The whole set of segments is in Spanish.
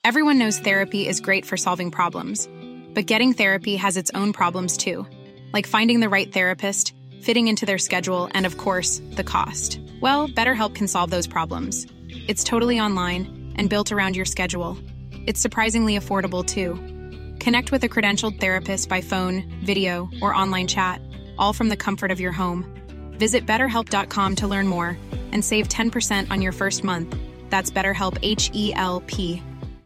Everyone knows therapy is great for solving problems, but getting therapy has its own problems too, like finding the right therapist, fitting into their schedule, and of course, the cost. Well, BetterHelp can solve those problems. It's totally online and built around your schedule. It's surprisingly affordable too. Connect with a credentialed therapist by phone, video, or online chat, all from the comfort of your home. Visit BetterHelp.com to learn more and save 10% on your first month. That's BetterHelp, H-E-L-P.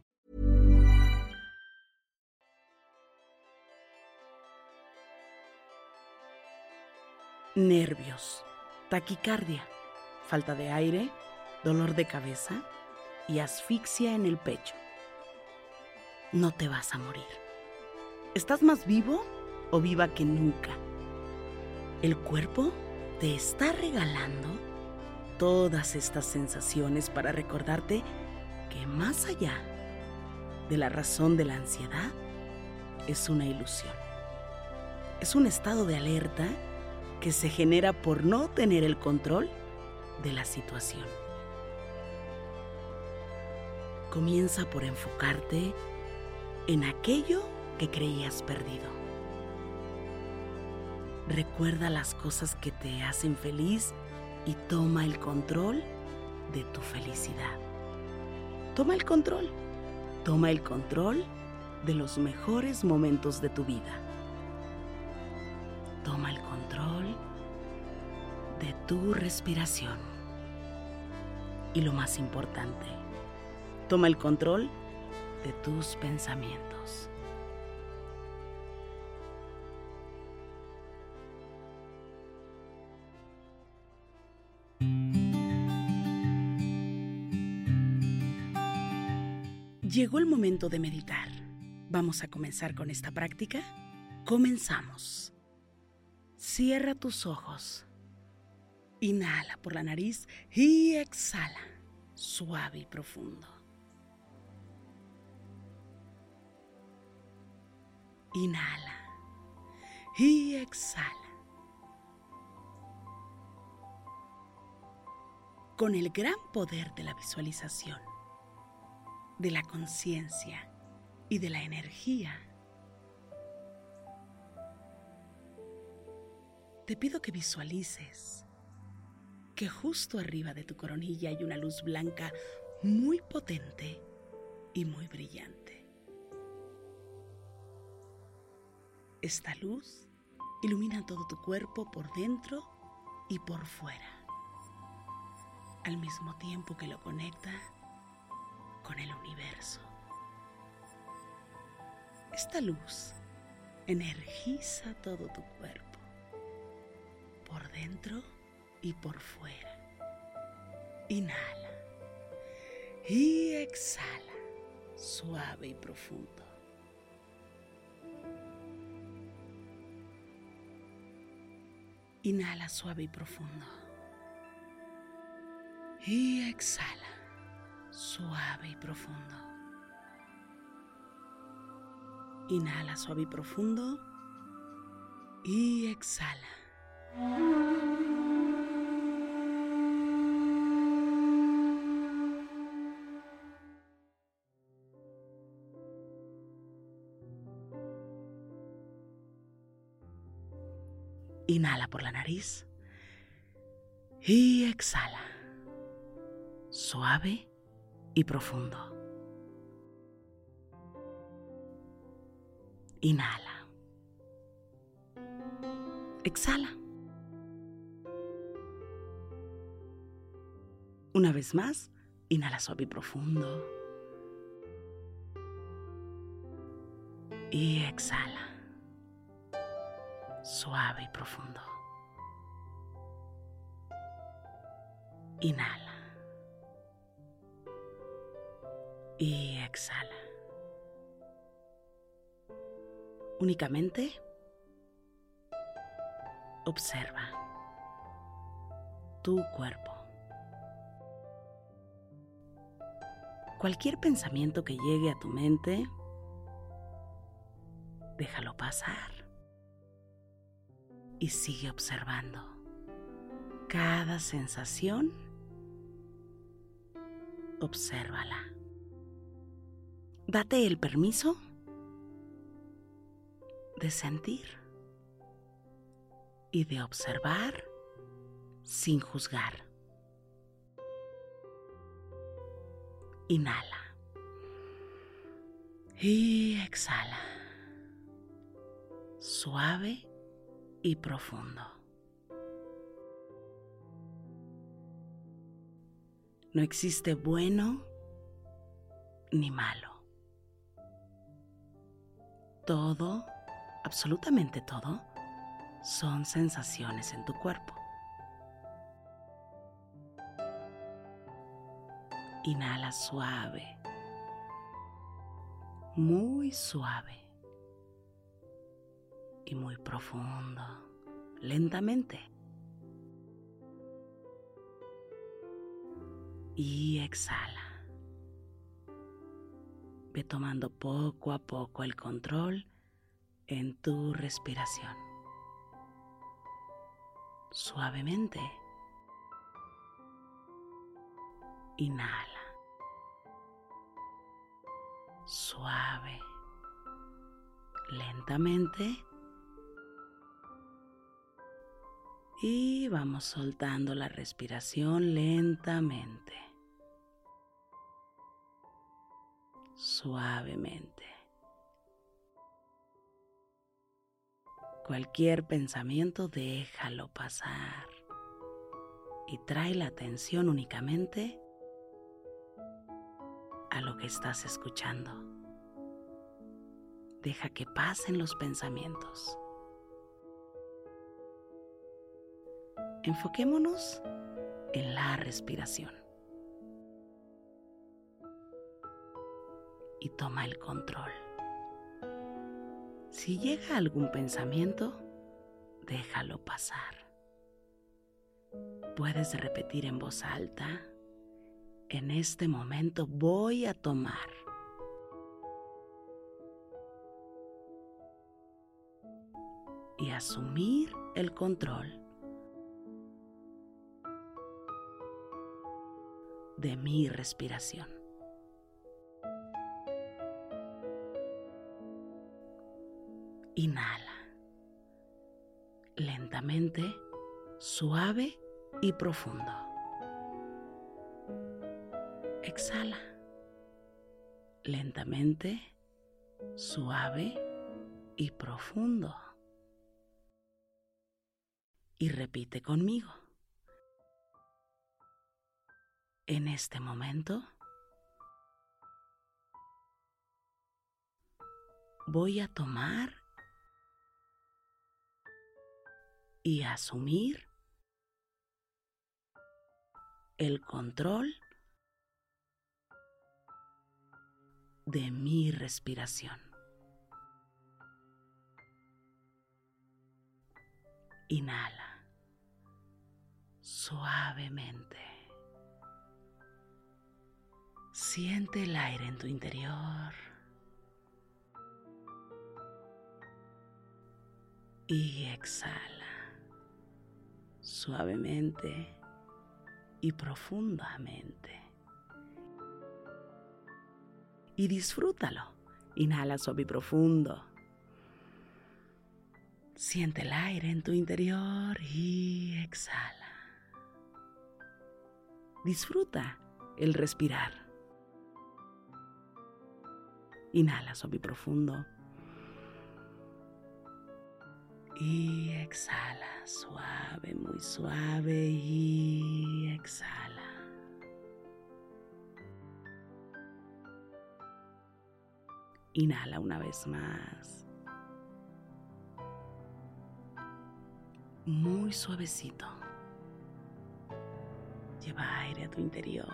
Nervios, taquicardia, falta de aire, dolor de cabeza y asfixia en el pecho. No te vas a morir. ¿Estás más vivo o viva que nunca? El cuerpo te está regalando todas estas sensaciones para recordarte que más allá de la razón de la ansiedad, es una ilusión. Es un estado de alerta que se genera por no tener el control de la situación. Comienza por enfocarte en aquello que creías perdido. Recuerda las cosas que te hacen feliz y toma el control de tu felicidad. Toma el control de los mejores momentos de tu vida. Toma el control de tu respiración. Y lo más importante, toma el control de tus pensamientos. Llegó el momento de meditar. ¿Vamos a comenzar con esta práctica? Comenzamos. Cierra tus ojos. Inhala por la nariz y exhala, suave y profundo. Inhala y exhala. Con el gran poder de la visualización, de la conciencia y de la energía, te pido que visualices que justo arriba de tu coronilla hay una luz blanca muy potente y muy brillante. Esta luz ilumina todo tu cuerpo por dentro y por fuera, al mismo tiempo que lo conecta con el universo. Esta luz energiza todo tu cuerpo, por dentro y por fuera. Inhala y exhala, suave y profundo. Inhala suave y profundo. Y exhala, suave y profundo. Inhala suave y profundo. Y exhala. Inhala por la nariz y exhala, suave y profundo. Inhala. Exhala. Una vez más, inhala suave y profundo. Y exhala, suave y profundo. Inhala. Y exhala. Únicamente observa tu cuerpo. Cualquier pensamiento que llegue a tu mente, déjalo pasar y sigue observando cada sensación. Obsérvala. Date el permiso de sentir y de observar sin juzgar. Inhala y exhala, suave y profundo. No existe bueno ni malo. Todo, absolutamente todo, son sensaciones en tu cuerpo. Inhala suave, muy suave y muy profundo, lentamente. Y exhala. Ve tomando poco a poco el control en tu respiración. Suavemente. Inhala. Suave. Lentamente. Y vamos soltando la respiración lentamente. Suavemente. Cualquier pensamiento déjalo pasar y trae la atención únicamente a lo que estás escuchando. Deja que pasen los pensamientos. Enfoquémonos en la respiración y toma el control. Si llega algún pensamiento, déjalo pasar. Puedes repetir en voz alta: en este momento voy a tomar. Y asumir el control de mi respiración. Inhala. Lentamente, suave y profundo. Exhala. Lentamente, suave y profundo. Y repite conmigo. En este momento, voy a tomar y asumir el control de mi respiración. Inhala suavemente. Siente el aire en tu interior y exhala suavemente y profundamente. Y disfrútalo. Inhala suave y profundo. Siente el aire en tu interior y exhala. Disfruta el respirar. Inhala suave y profundo. Y exhala suave, muy suave y exhala. Inhala una vez más. Muy suavecito. Lleva aire a tu interior.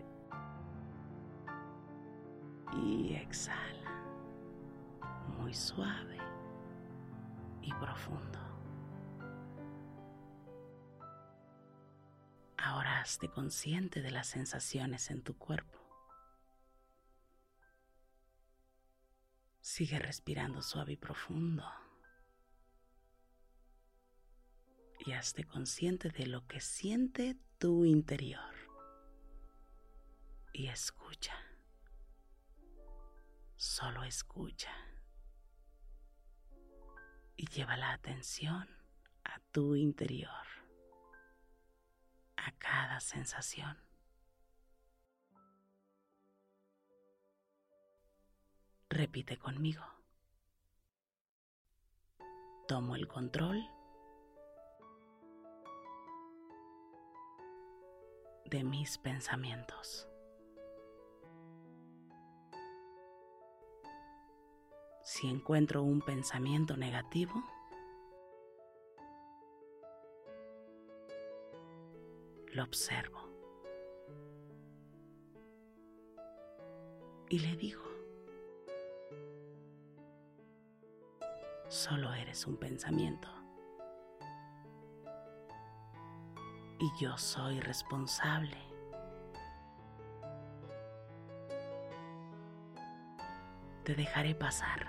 Y exhala. Muy suave y profundo. Ahora hazte consciente de las sensaciones en tu cuerpo. Sigue respirando suave y profundo. Y hazte consciente de lo que siente tu interior. Y escucha. Solo escucha y lleva la atención a tu interior, a cada sensación. Repite conmigo. Tomo el control de mis pensamientos. Si encuentro un pensamiento negativo, lo observo y le digo: solo eres un pensamiento y yo soy responsable. Te dejaré pasar.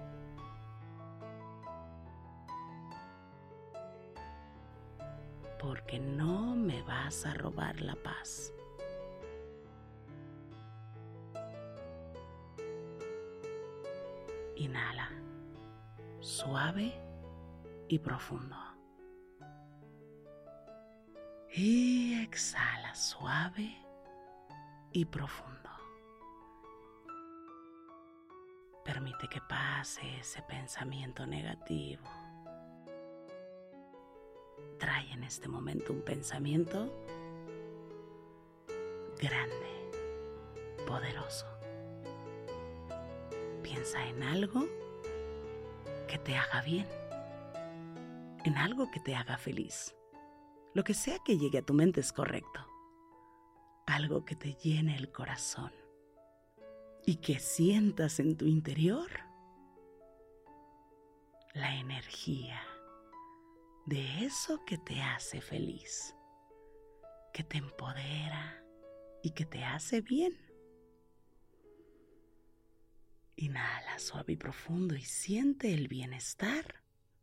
Porque no me vas a robar la paz. Inhala, suave y profundo. Y exhala, suave y profundo. Permite que pase ese pensamiento negativo. Trae en este momento un pensamiento grande, poderoso. Piensa en algo que te haga bien, en algo que te haga feliz. Lo que sea que llegue a tu mente es correcto. Algo que te llene el corazón y que sientas en tu interior la energía de eso que te hace feliz, que te empodera y que te hace bien. Inhala suave y profundo y siente el bienestar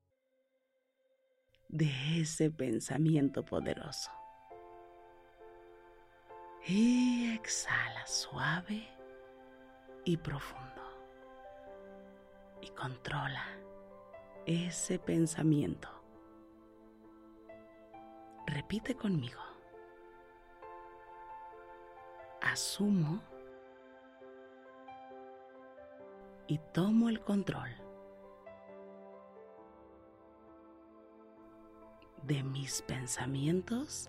de ese pensamiento poderoso. Y exhala suave y profundo. Y controla ese pensamiento. Repite conmigo. Asumo y tomo el control de mis pensamientos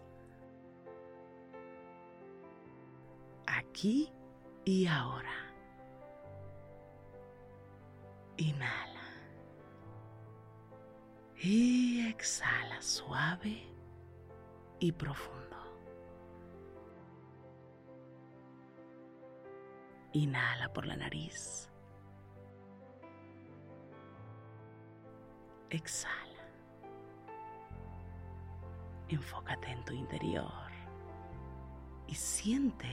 aquí y ahora. Inhala y exhala suave y profundo. Inhala por la nariz. Exhala. Enfócate en tu interior y siente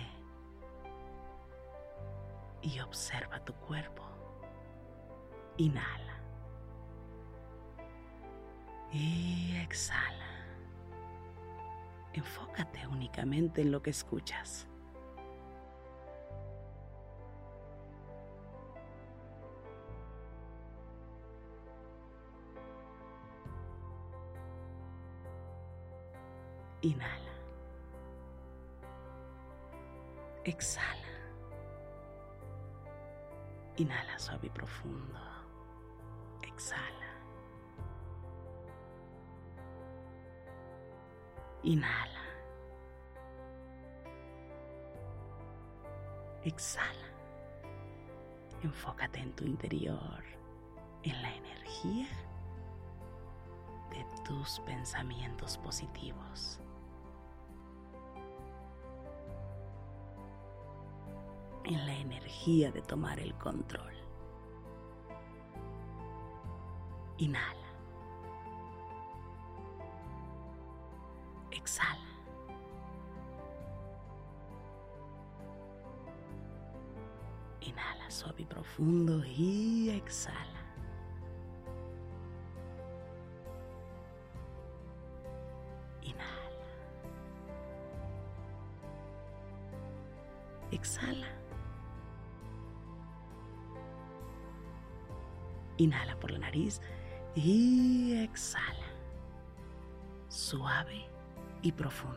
y observa tu cuerpo. Inhala y exhala. Enfócate únicamente en lo que escuchas. Inhala. Exhala. Inhala suave y profundo. Exhala. Inhala. Exhala. Enfócate en tu interior, en la energía de tus pensamientos positivos. En la energía de tomar el control. Inhala. Exhala. Inhala suave y profundo y exhala. Inhala. Exhala. Inhala por la nariz y exhala. Suave y profundo.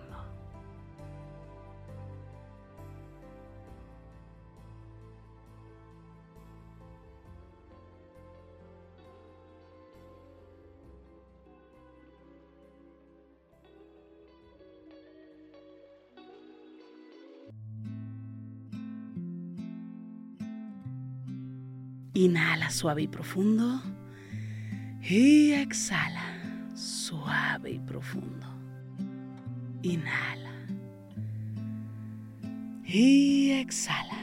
Inhala suave y profundo y exhala suave y profundo. Inhala y exhala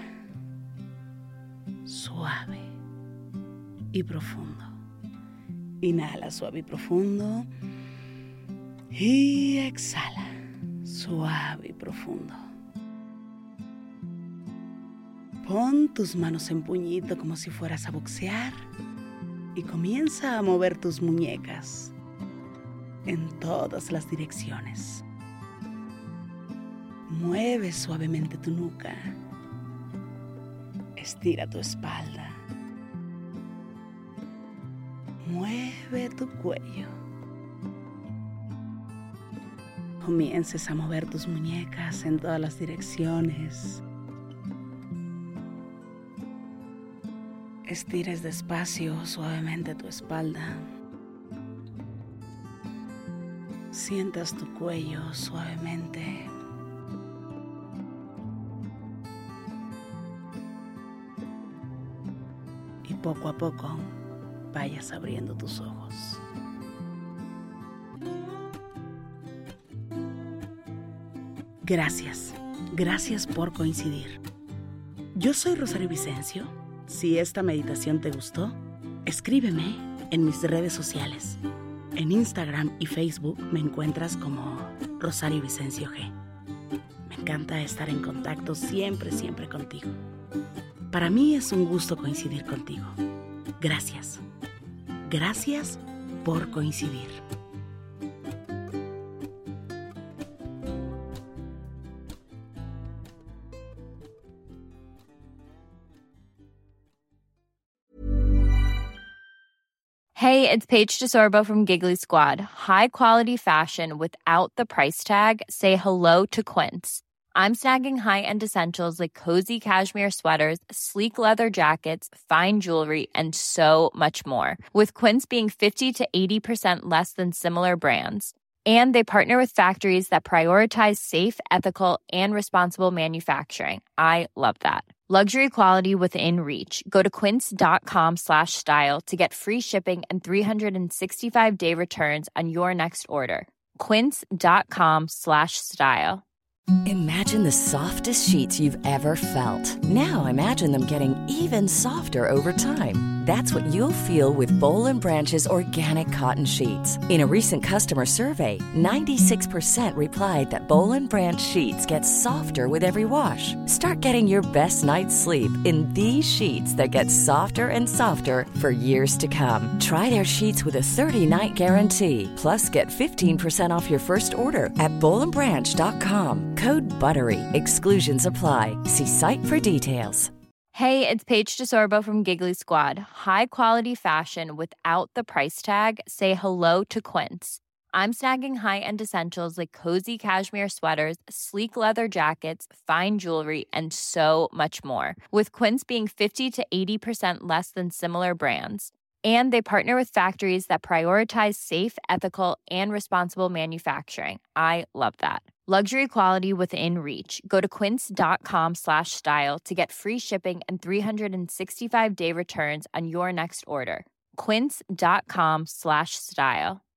suave y profundo. Inhala suave y profundo y exhala suave y profundo. Pon tus manos en puñito como si fueras a boxear y comienza a mover tus muñecas en todas las direcciones. Mueve suavemente tu nuca. Estira tu espalda. Mueve tu cuello. Comiences a mover tus muñecas en todas las direcciones. Estires despacio, suavemente tu espalda. Sientas tu cuello suavemente. Y poco a poco vayas abriendo tus ojos. Gracias por coincidir. Yo soy Rosario Vicencio. Si esta meditación te gustó, escríbeme en mis redes sociales. En Instagram y Facebook me encuentras como Rosario Vicencio G. Me encanta estar en contacto siempre contigo. Para mí es un gusto coincidir contigo. Gracias por coincidir. Hey, it's Paige DeSorbo from Giggly Squad. High quality fashion without the price tag. Say hello to Quince. I'm snagging high-end essentials like cozy cashmere sweaters, sleek leather jackets, fine jewelry, and so much more. With Quince being 50 to 80% less than similar brands. And they partner with factories that prioritize safe, ethical, and responsible manufacturing. I love that. Luxury quality within reach. Go to quince.com/style to get free shipping and 365-day returns on your next order. Quince.com/style. Imagine the softest sheets you've ever felt. Now imagine them getting even softer over time. That's what you'll feel with Boll & Branch's organic cotton sheets. In a recent customer survey, 96% replied that Boll & Branch sheets get softer with every wash. Start getting your best night's sleep in these sheets that get softer and softer for years to come. Try their sheets with a 30-night guarantee. Plus, get 15% off your first order at bollandbranch.com. Code BUTTERY. Exclusions apply. See site for details. Hey, it's Paige DeSorbo from Giggly Squad. High quality fashion without the price tag. Say hello to Quince. I'm snagging high-end essentials like cozy cashmere sweaters, sleek leather jackets, fine jewelry, and so much more. With Quince being 50 to 80% less than similar brands. And they partner with factories that prioritize safe, ethical, and responsible manufacturing. I love that. Luxury quality within reach. Go to quince.com/style to get free shipping and 365-day returns on your next order. Quince.com/style.